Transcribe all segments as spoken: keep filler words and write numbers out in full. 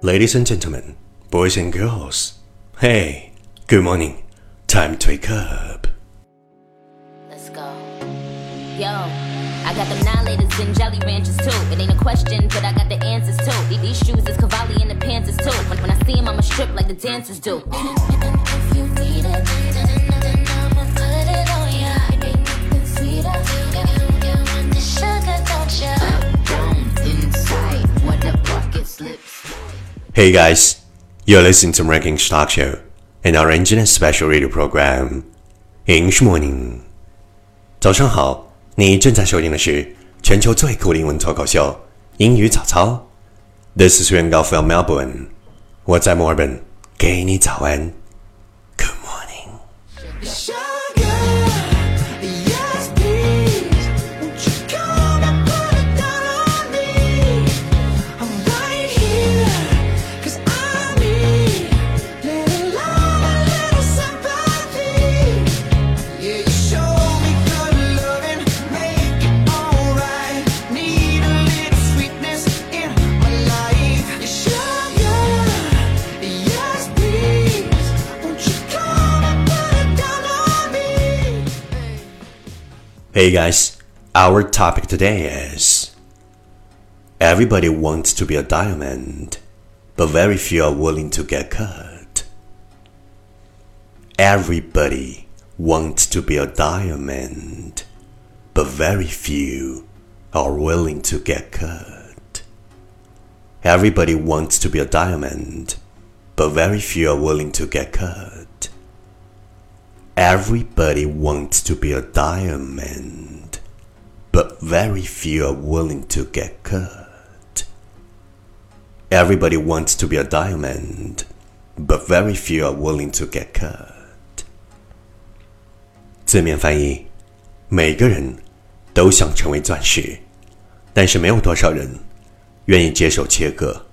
Ladies and gentlemen, boys and girls, hey, good morning. Time to wake up. Let's go. Yo, I got them nine laters and Jolly Ranchers too. It ain't a question, but I got the answers too. These shoes is Cavalli and the Panthers too. When, when I see them, I'ma strip like the dancers do. If you need it, then I'ma put it on ya. Anything sweeter, you want the sugar, don't ya? Down inside, what the bucket slips. Hey guys, you're listening to Ranking Stock Show, an original special radio program. English Morning. 早上好，你正在收听的是全球最酷的英文脱口秀英语早操。This is Yuan from Melbourne. 我在墨尔本，给你早安。Good morning. Hey guys, our topic today is everybody wants to be a diamond, but very few are willing to get cut. Everybody wants to be a diamond, but very few are willing to get cut. Everybody wants to be a diamond, but very few are willing to get cut. Everybody wants to be a diamond, but very few are willing to get cut. Everybody wants to be a diamond, but very few are willing to get cut. 字面翻译，每个人都想成为钻石，但是没有多少人愿意接受切割。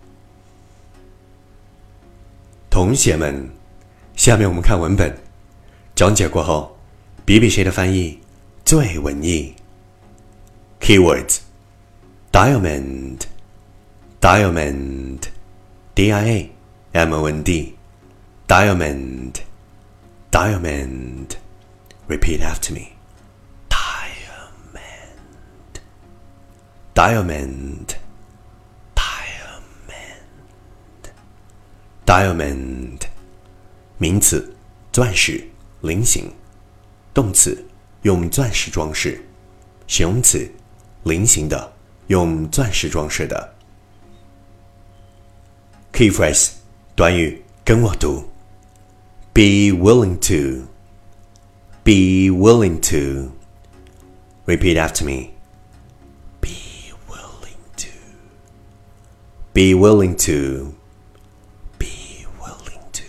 同学们，下面我们看文本。讲解过后，比比谁的翻译最文艺。Keywords: Diamond, Diamond, D I A M O N D, Diamond, Diamond. Repeat after me. Diamond, Diamond, Diamond, Diamond. 名词，钻石。菱形，动词用钻石装饰，形容词菱形的，用钻石装饰的。Key phrase 短语跟我读 Be willing to Be willing to Repeat after me Be willing to Be willing to Be willing to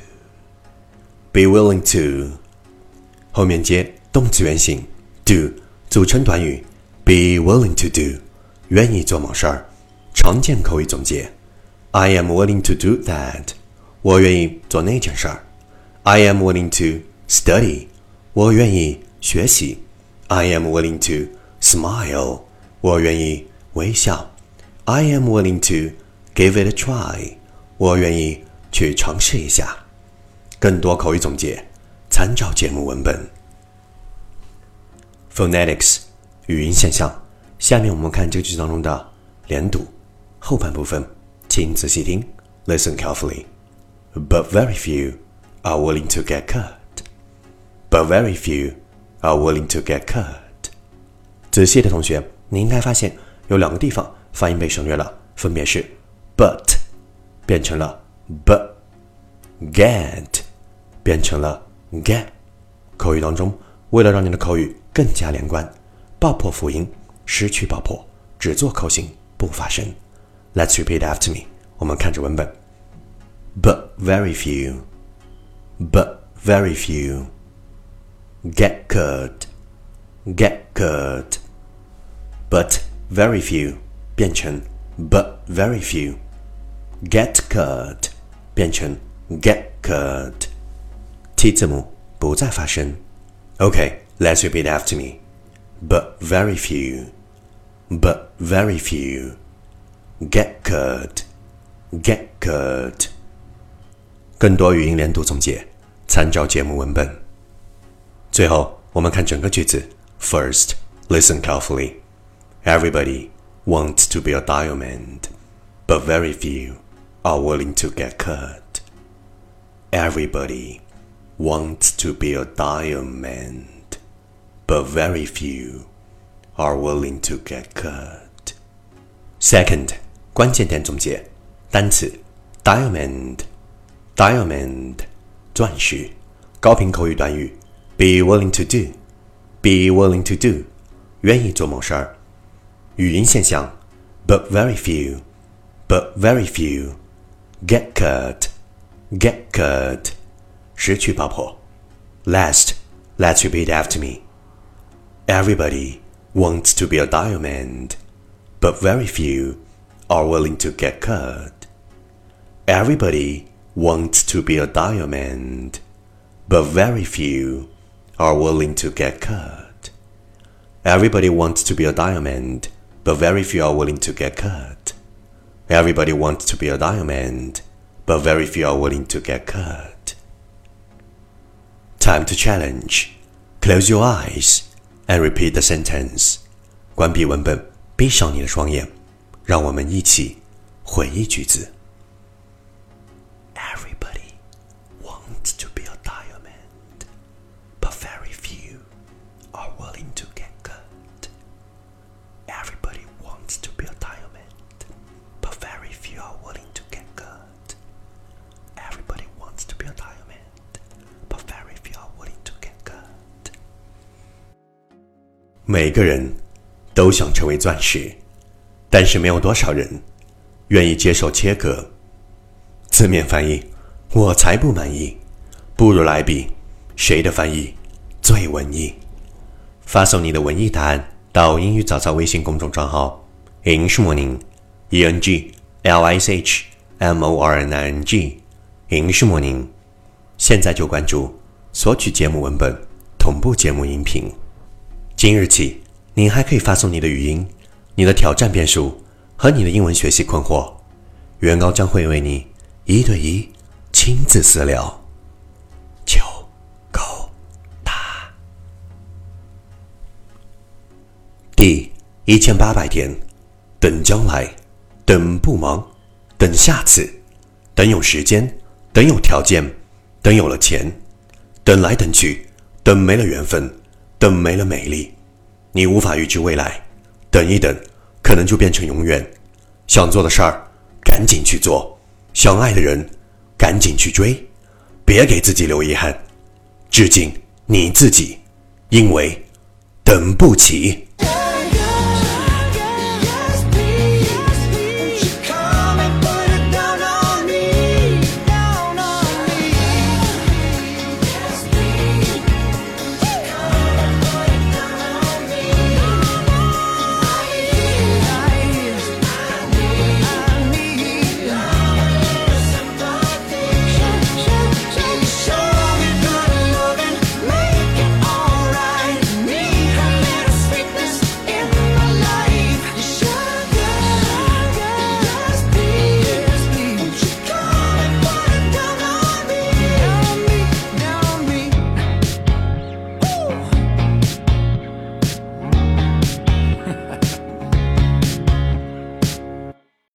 Be willing to后面接动词原形 do 组成短语 be willing to do 愿意做某事儿。常见口语总结 I am willing to do that 我愿意做那件事儿。I am willing to study 我愿意学习。I am willing to smile 我愿意微笑。I am willing to give it a try 我愿意去尝试一下。更多口语总结参照节目文本。Phonetics 语音现象，下面我们看这个句子当中的连读后半部分，请仔细听 Listen carefully. But very few are willing to get cut. But very few are willing to get cut. 仔细的同学，你应该发现有两个地方发音被省略了，分别是 but 变成了 b get 变成了get。 口语当中，为了让你的口语更加连贯，爆破辅音，失去爆破，只做口型，不发声。 Let's repeat after me. 我们看着文本 But very few But very few Get cut Get cut But very few 变成 But very few Get cut 变成 Get cut T 字母不再发声。 Okay, let's repeat after me. But very few But very few get cut get cut。更多语音连读总结，参照节目文本。最后，我们看整个句子。First, listen carefully. Everybody wants to be a diamond, but very few are willing to get cut. Everybody wants to be a diamond, but very few are willing to get cut. Second, 关键点总结，单词 diamond, diamond 钻石，高频口语短语 be willing to do, be willing to do 愿意做某事儿。语音现象 but very few, but very few get cut, get cut 失去爆破。Last, let's repeat after me. Everybody wants to be a diamond, but very few are willing to get cut. Everybody wants to be a diamond, but very few are willing to get cut. Everybody wants to be a diamond, but very few are willing to get cut. Everybody wants to be a diamond, but very few are willing to get cut. Time to challenge. Close your eyes and repeat the sentence. 关闭文本，闭上你的双眼，让我们一起回忆句子。Everybody wants to be a diamond, but very few are willing to get cut. Everybody wants to be a diamond, but very few are willing to get cut. Everybody wants to be a diamond, but very few are willing to get cut. 每个人都想成为钻石，但是没有多少人愿意接受切割。字面翻译，我才不满意，不如来比谁的翻译最文艺。发送你的文艺答案到英语早操微信公众账号 English Morning E N G L I S H M O R N I N G English Morning， 现在就关注，索取节目文本，同步节目音频。今日起，你还可以发送你的语音、你的挑战变数和你的英文学习困惑，袁高将会为你一对一亲自私聊。求够答。第一千八百天，等将来，等不忙，等下次，等有时间，等有条件，等有了钱，等来等去，等没了缘分，等没了美丽。你无法预知未来，等一等，可能就变成永远。想做的事儿，赶紧去做；想爱的人，赶紧去追，别给自己留遗憾。致敬你自己，因为等不起。